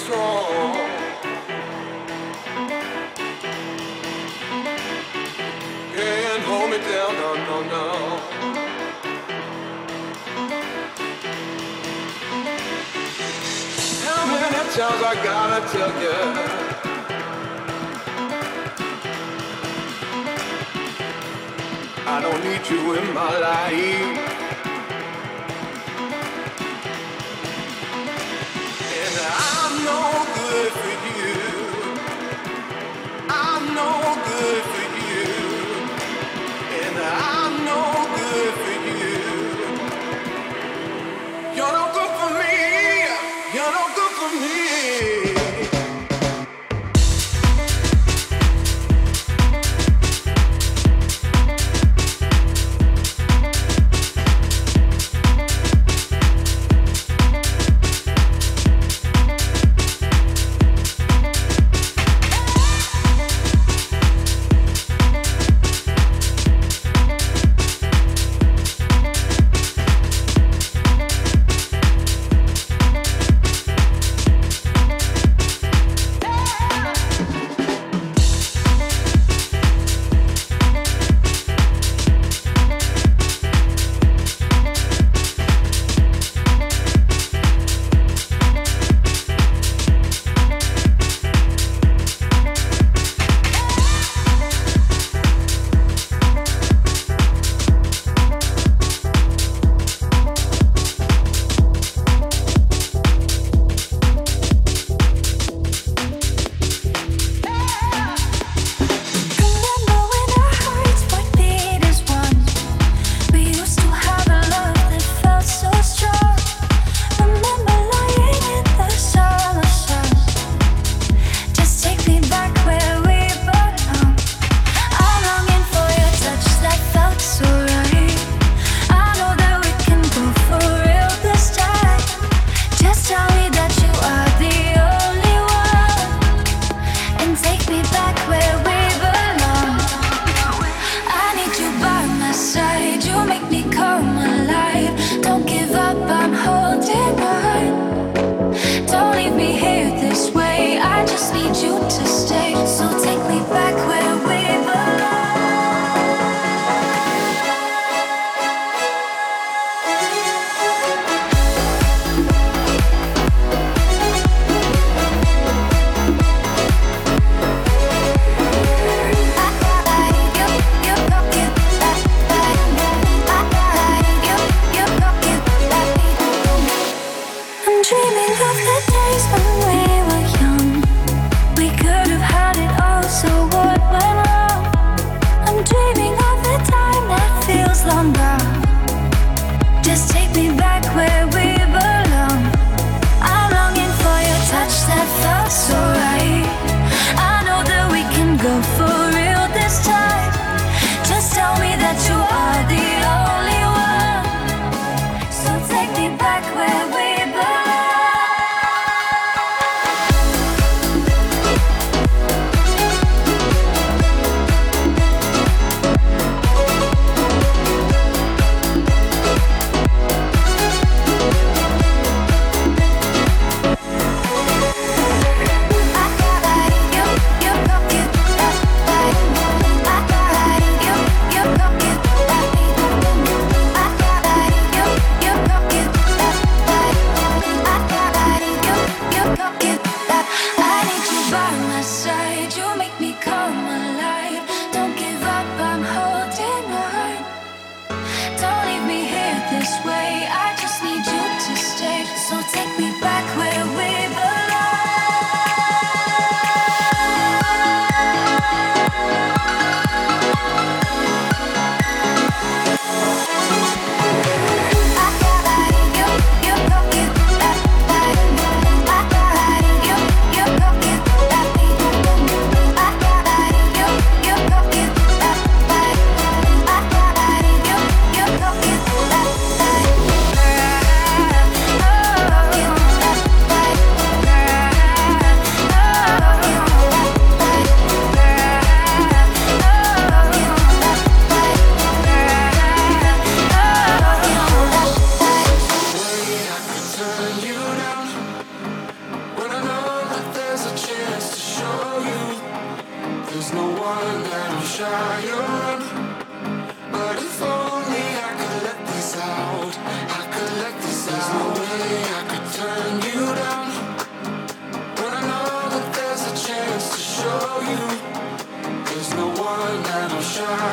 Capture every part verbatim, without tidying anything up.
strong. Can't hold me down, no, no, no. How many times I gotta tell you? I don't need you in my life. And I'm no good for you. I'm no good for you. And I'm no good for you. You're no good for me. You're no good for me.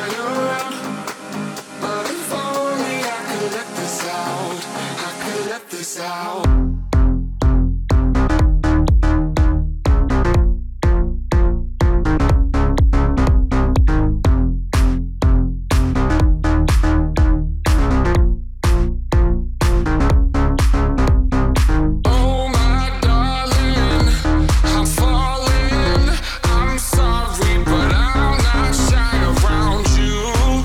better. But if only I could let this out, I could let this out. You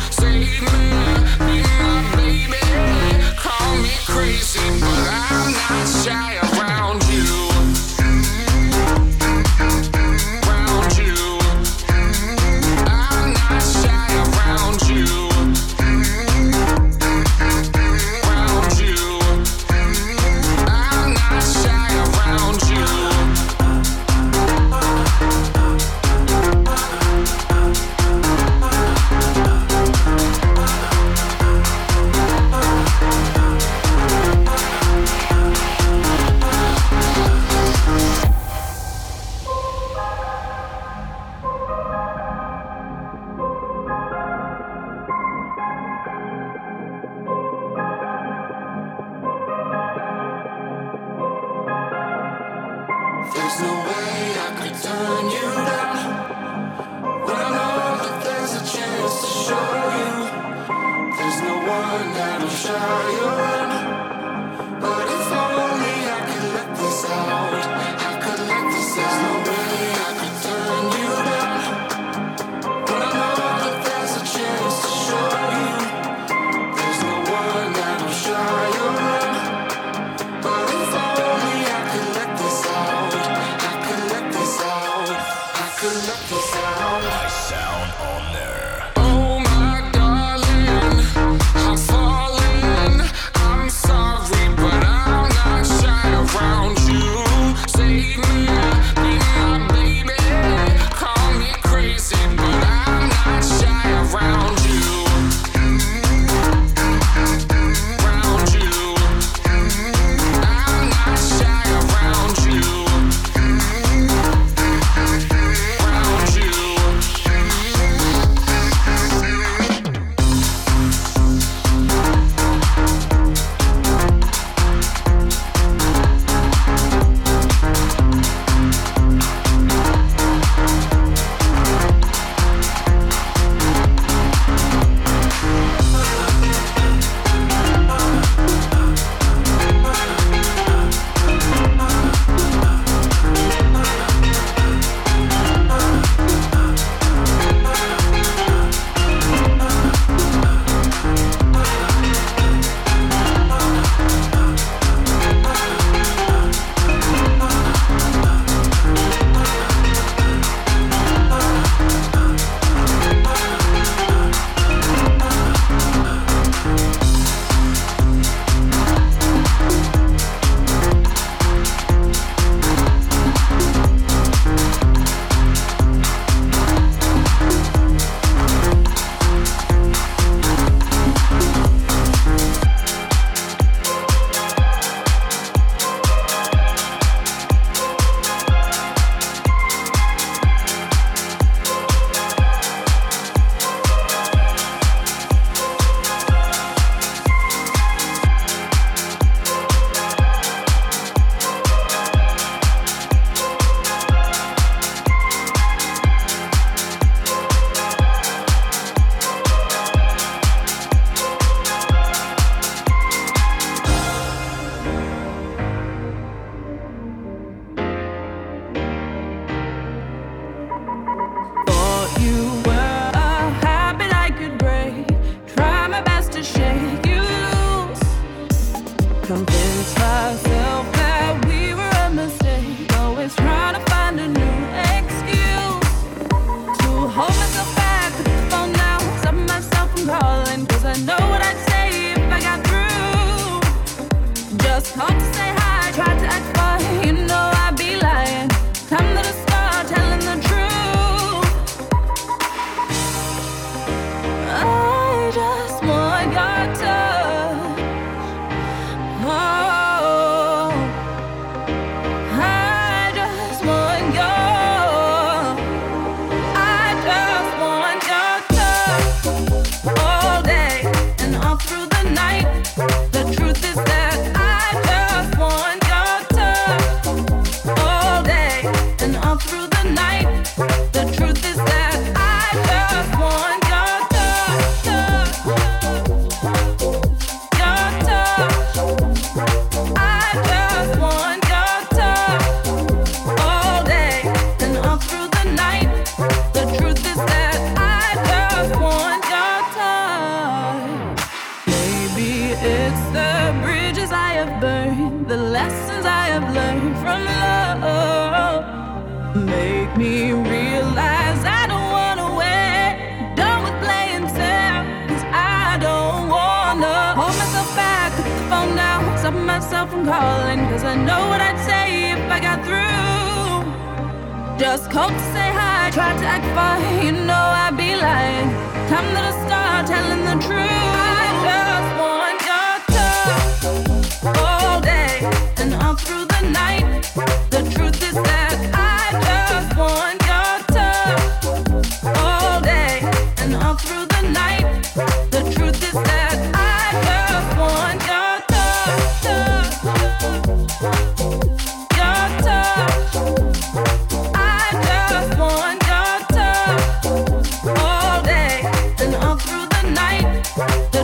It's the bridges I have burned, the lessons I have learned from love. Make me realize I don't wanna wait. Done with playing fair, cause I don't wanna hold myself back, put the phone down, stop myself from calling, cause I know what I'd say if I got through. Just called to say hi, tried to act fine, you know I'd be lying. Time that I start telling the truth. I just want your touch all day and all through the night. The truth is that I just want your touch all day and all through the night. The truth is that I just want your touch, your touch. I just want your touch all day and all through the night.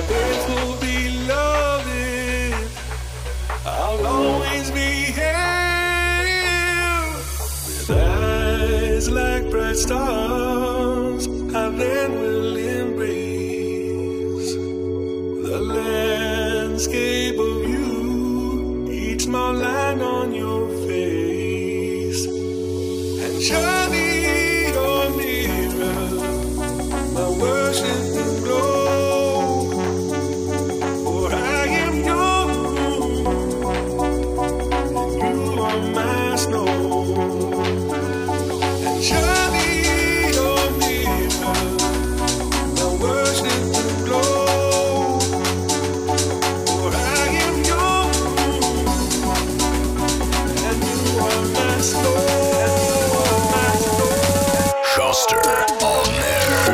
days will be loving. I'll always be here with eyes like bright stars. I then will embrace the landscape of you, each small line on your face, and surely your mirror, my worship will glow. For I am yours, you are my snow, and surely your mirror, my worship will glow. For I am yours, and you are my snow. Schuster on air.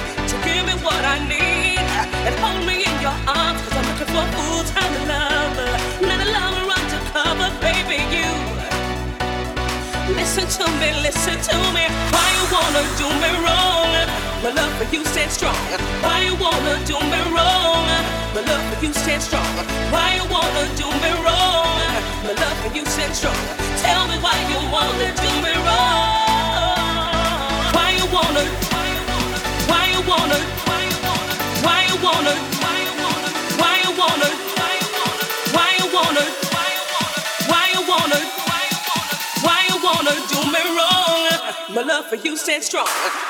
Hold me in your arms, 'cause I'm looking for a full-time lover. me, listen to me. Why you wanna do me wrong? My love for you stands strong. Why you wanna do me wrong? My love for you stands strong. Why you wanna do me wrong? My love for you stands strong. Tell me why you wanna do me wrong? Why you wanna? Why you wanna? Why you wanna? Why you wanna? Why you wanna? Why you wanna? Why you wanna? Why you wanna? Why you wanna? Why you wanna do me wrong? My love for you stands strong.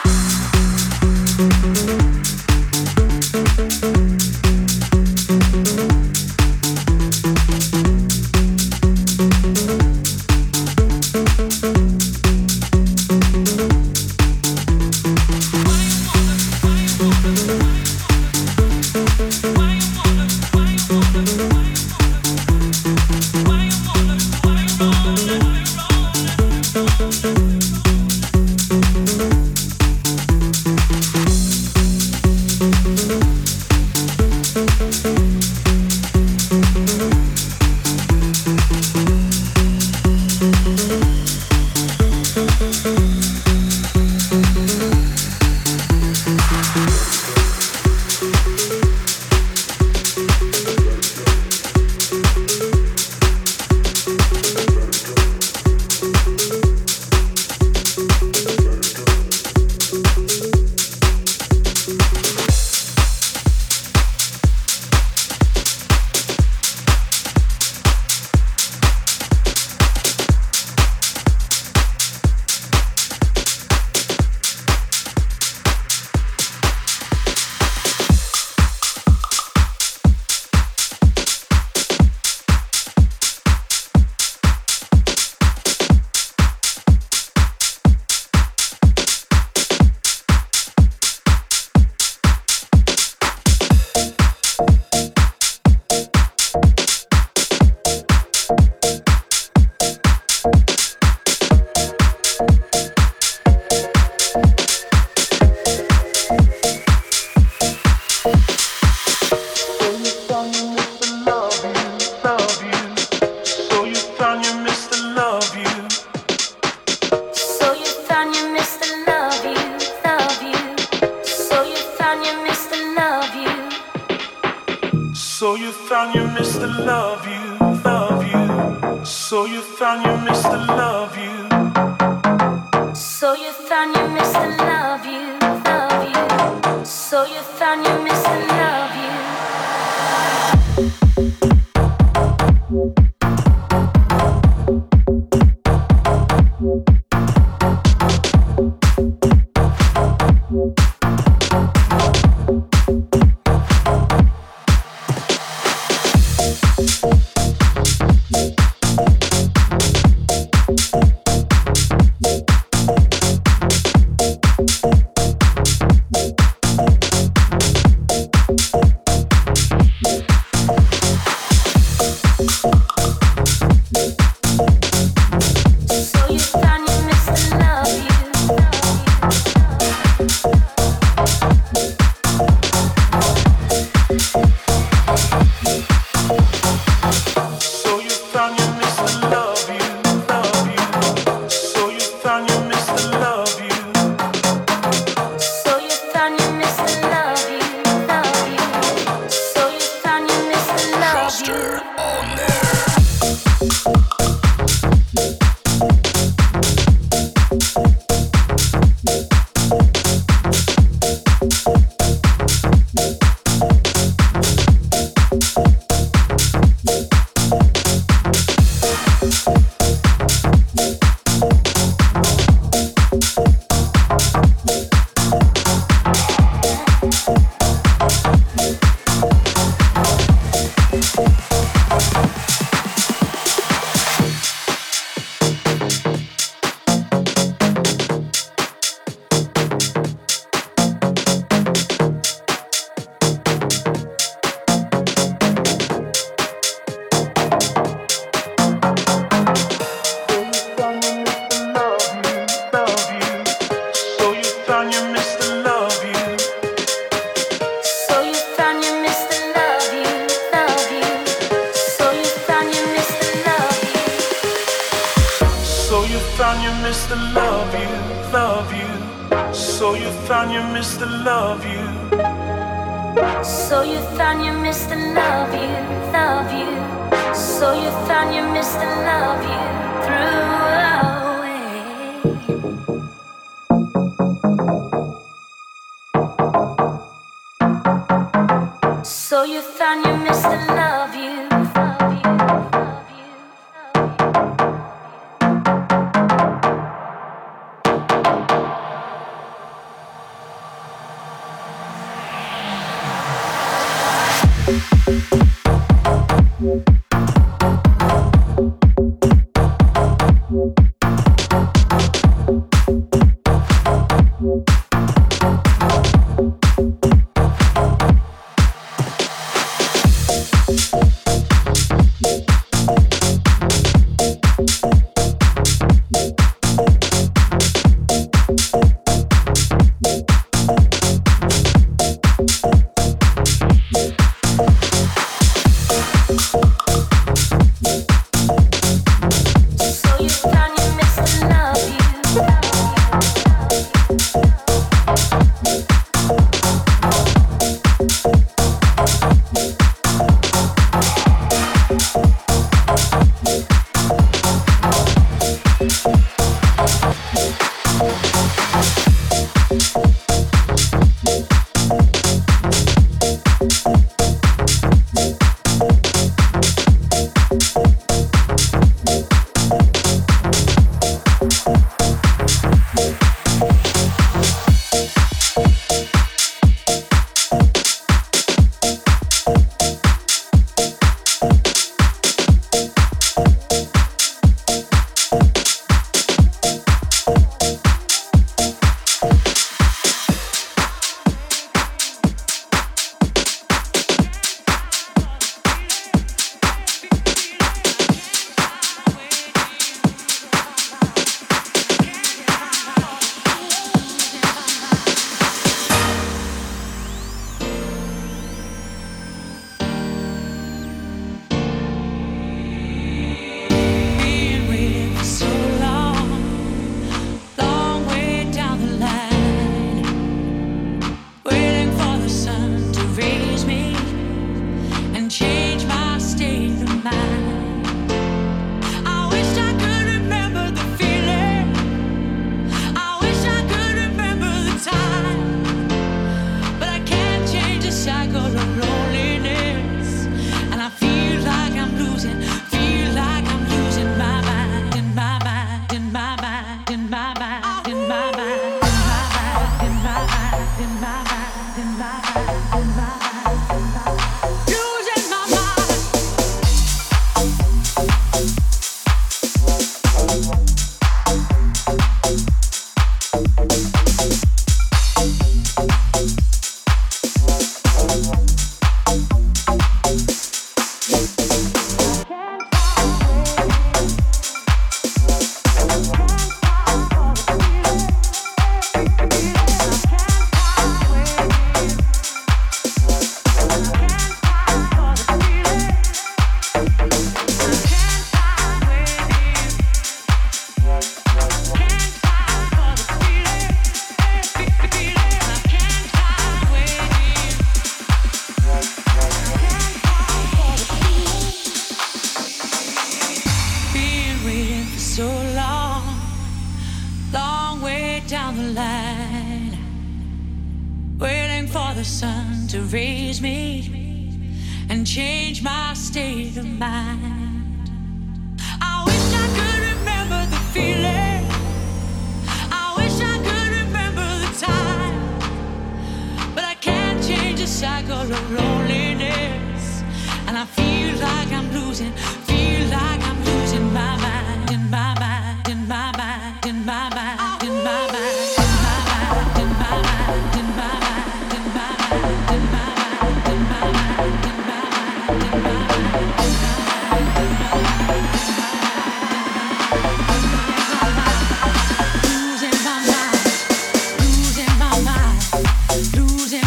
So you found you missed the love you, love you. So you found you missed the love you. So you found you missed the love you, love you. So you found you missed the love you. Mister Love You, love you. So you found your Mister Love You. So you found your Mister Love You, love you. So you found your Mister Love You through away. So you found your Mister Love You, love you, love you, love you.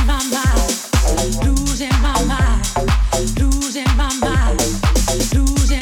Losing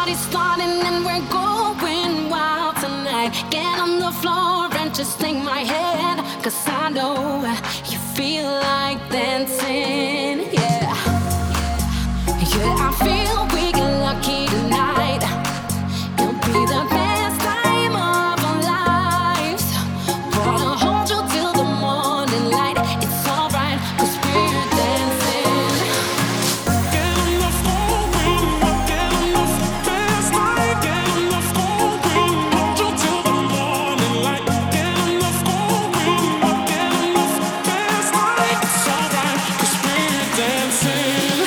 party's starting and we're going wild tonight. Get on the floor and just take my hand, 'cause I know you feel like dancing, yeah. Yeah, I feel we get lucky tonight. It'll be the best time of our lives. Wanna hold you till the morning light. It's alright, 'cause we're dancing. Get on the floor, get on the fast night. Get on the floor, hold you till the morning light. Get on the floor, get on the fast night. It's alright, 'cause we're dancing.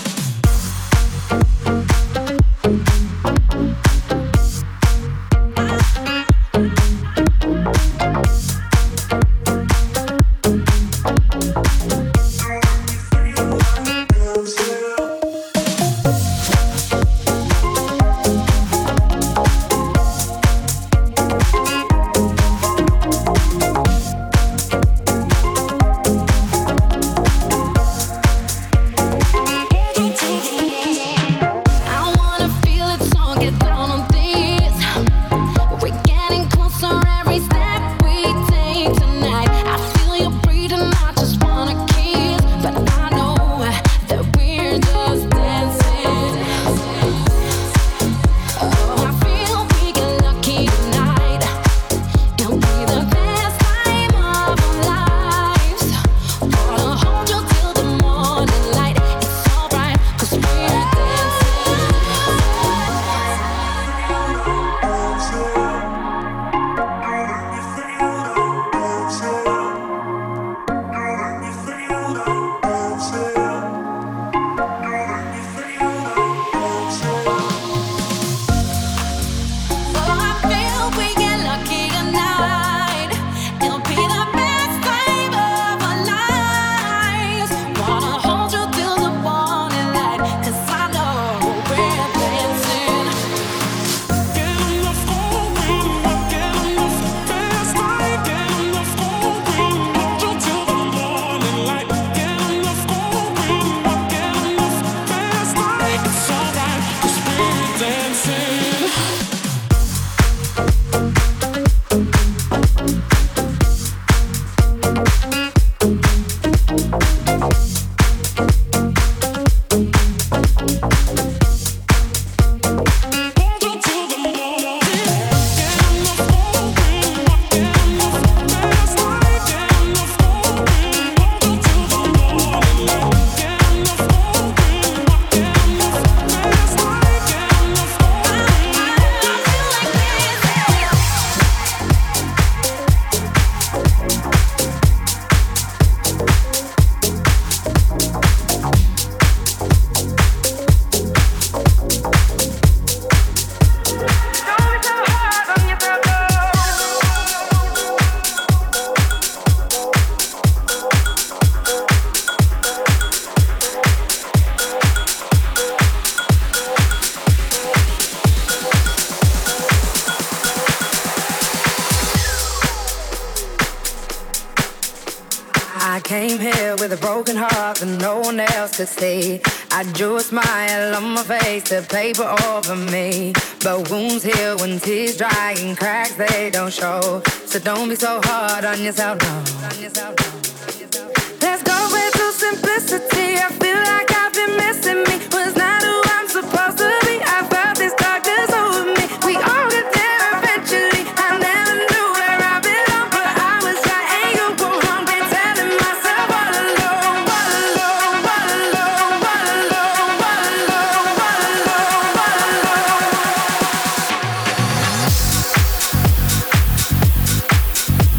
I wanna feel it, so get down on this. We're getting closer every step we take tonight. I feel you breathing, I just wanna kiss, but I know that we're just dancing. Oh, I feel we get lucky tonight. It'll be the best time of our lives. Wanna hold you till the morning light. It's alright, 'cause we're Oh, I feel we get lucky tonight. It'll be the best time of our lives. Wanna hold you till the morning light, 'cause I know we're dancing. Get on the floor, get on the fast night. Get on the floor, hold you till the morning light. Get on the floor, get on the fast night. It's alright, 'cause we're dancing. Hold you till the morning. Get on the floor, get on the fast night. Get on the floor, hold you till the morning light. Get on the floor, get on the fast night. Get on the floor. I came here with a broken heart that no one else could see. I drew a smile on my face to paper over me. But wounds heal when tears dry and cracks they don't show. So don't be so hard on yourself, no. Let's go with the simplicity. I feel like I've been missing me. Was not who I'm supposed to be. I felt this darkness over me. We all get there eventually. I never knew where I belong, but I was right and you were wrong. Been telling myself all alone, all alone, all alone, all alone, all alone, all alone, all alone.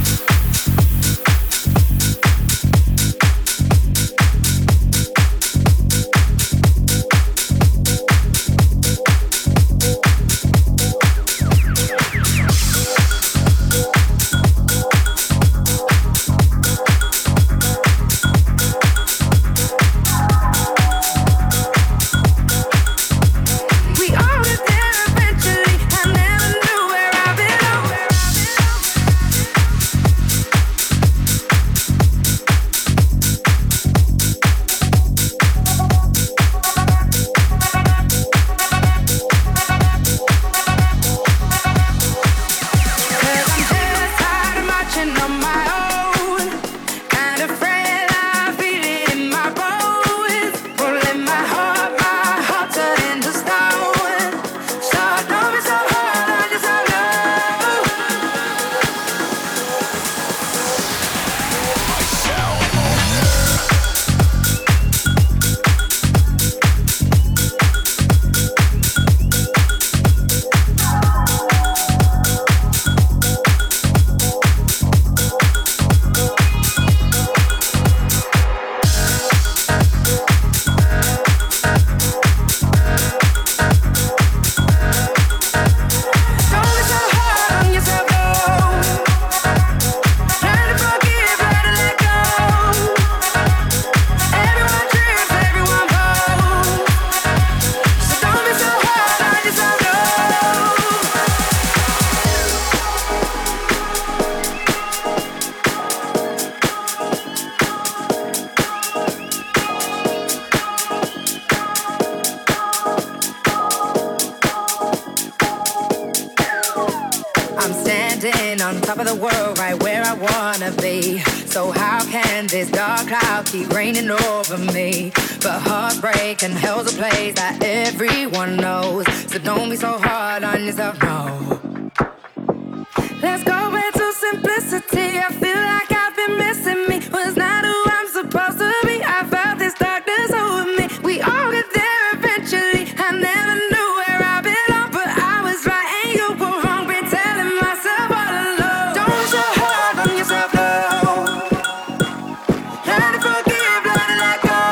sitting on top of the world, right where I wanna be. So how can this dark cloud keep raining over me? But heartbreak and hell's a place that everyone knows. So don't be so hard on yourself, no. Let's go back to simplicity. I feel like I've been missing me. Was not who I'm supposed to be. I felt this darkness over me. We all get there eventually. I never knew where I belong, but I was right and you were wrong. Been telling myself all alone. Don't be so hard on yourself, no. Learn to forgive, learn to let go.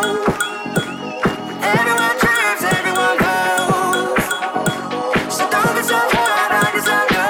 Everyone trips, everyone goes. So don't be so hard on yourself, no.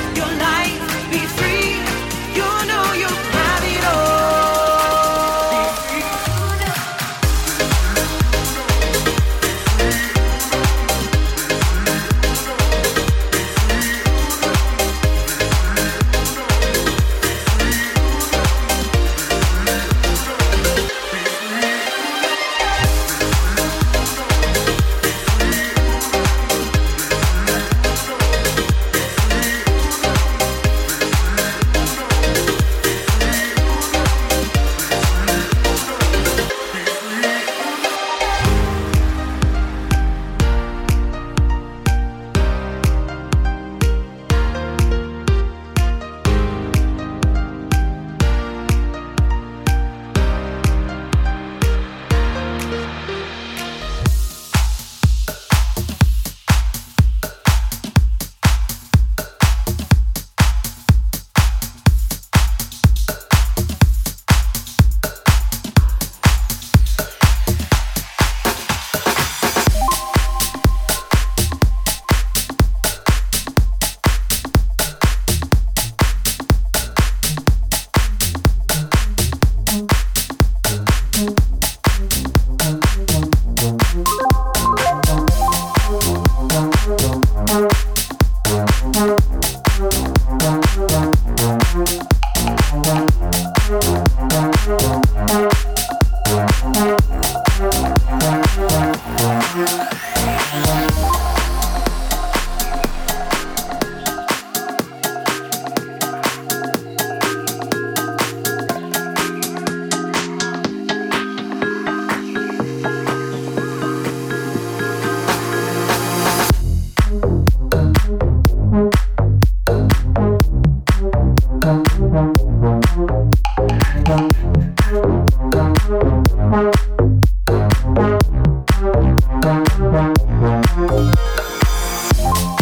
Be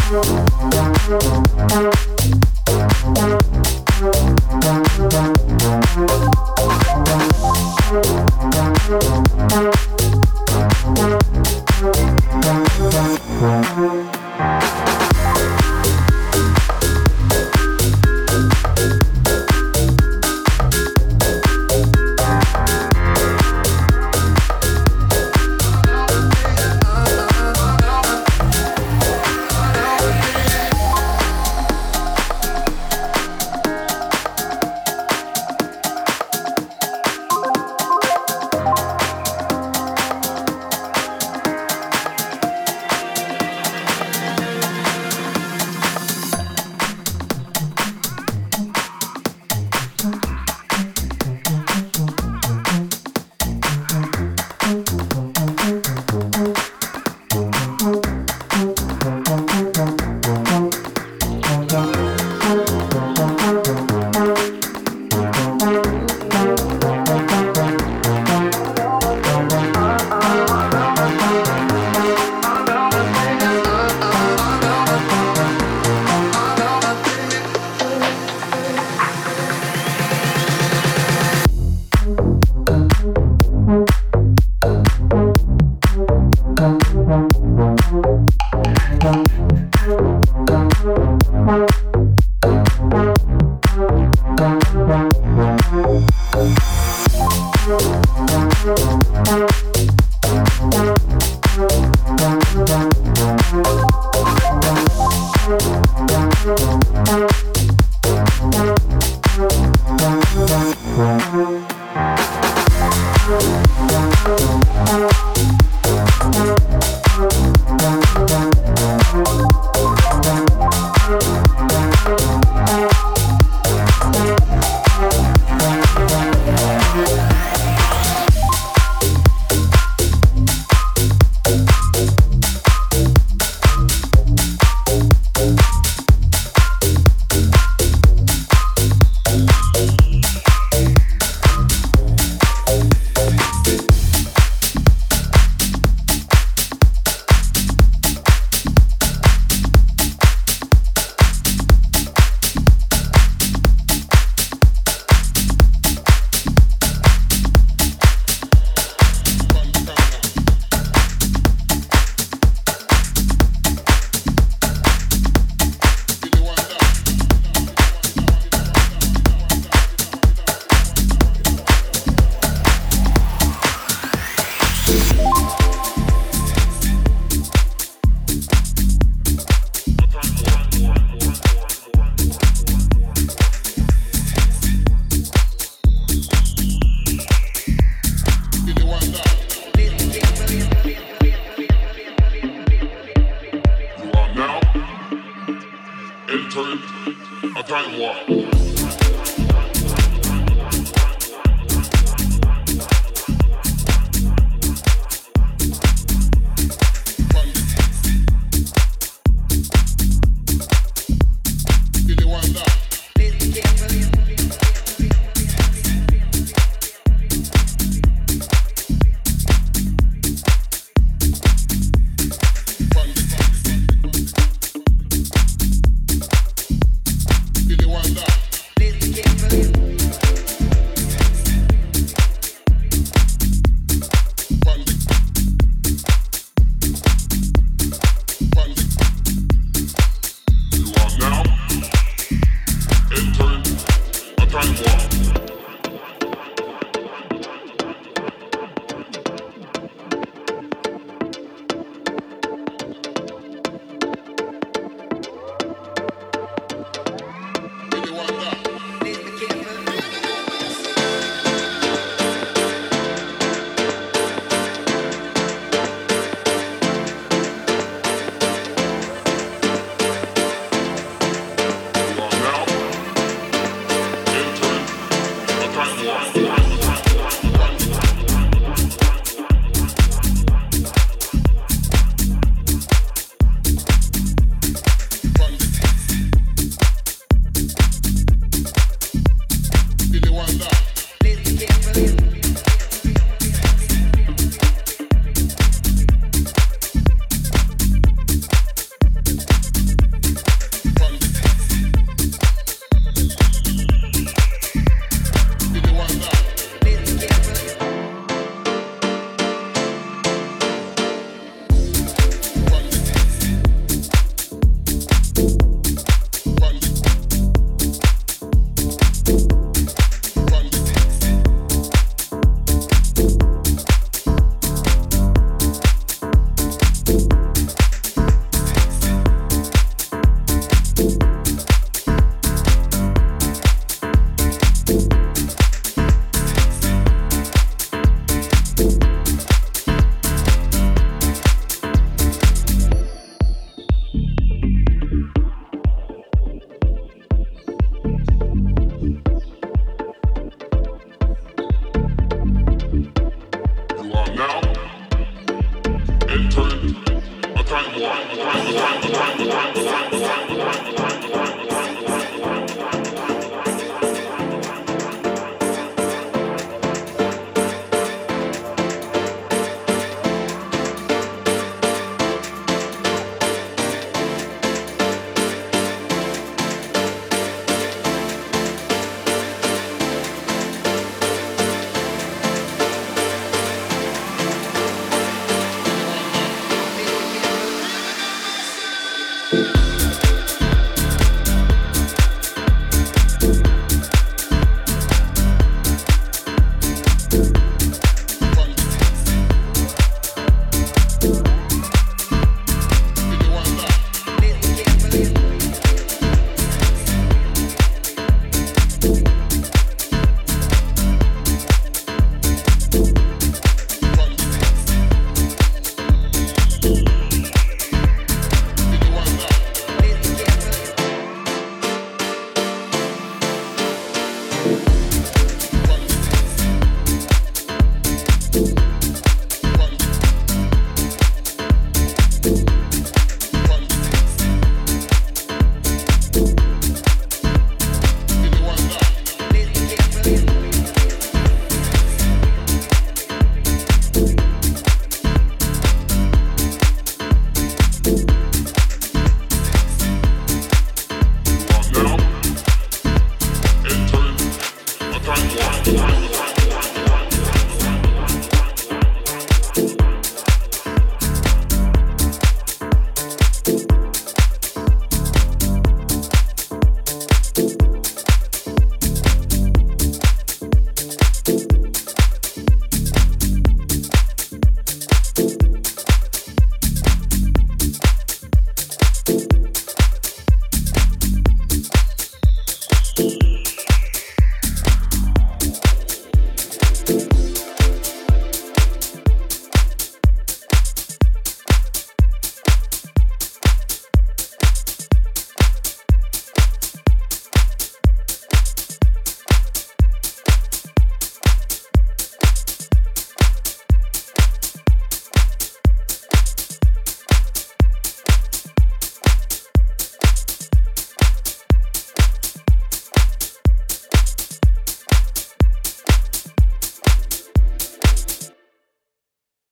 entering a time warp.